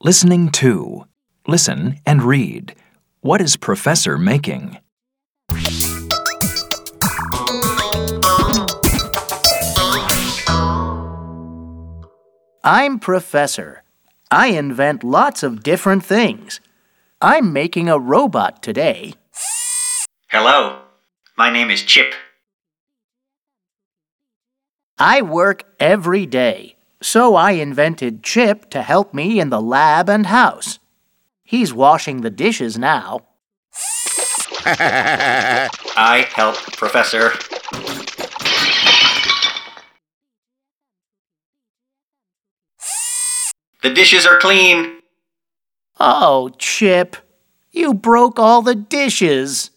Listening 2. Listen and read. What is Professor making? I'm Professor. I invent lots of different things. I'm making a robot today. Hello, my name is Chip. I work every day, so I invented Chip to help me in the lab and house. He's washing the dishes now. I help Professor. The dishes are clean. Oh, Chip, you broke all the dishes.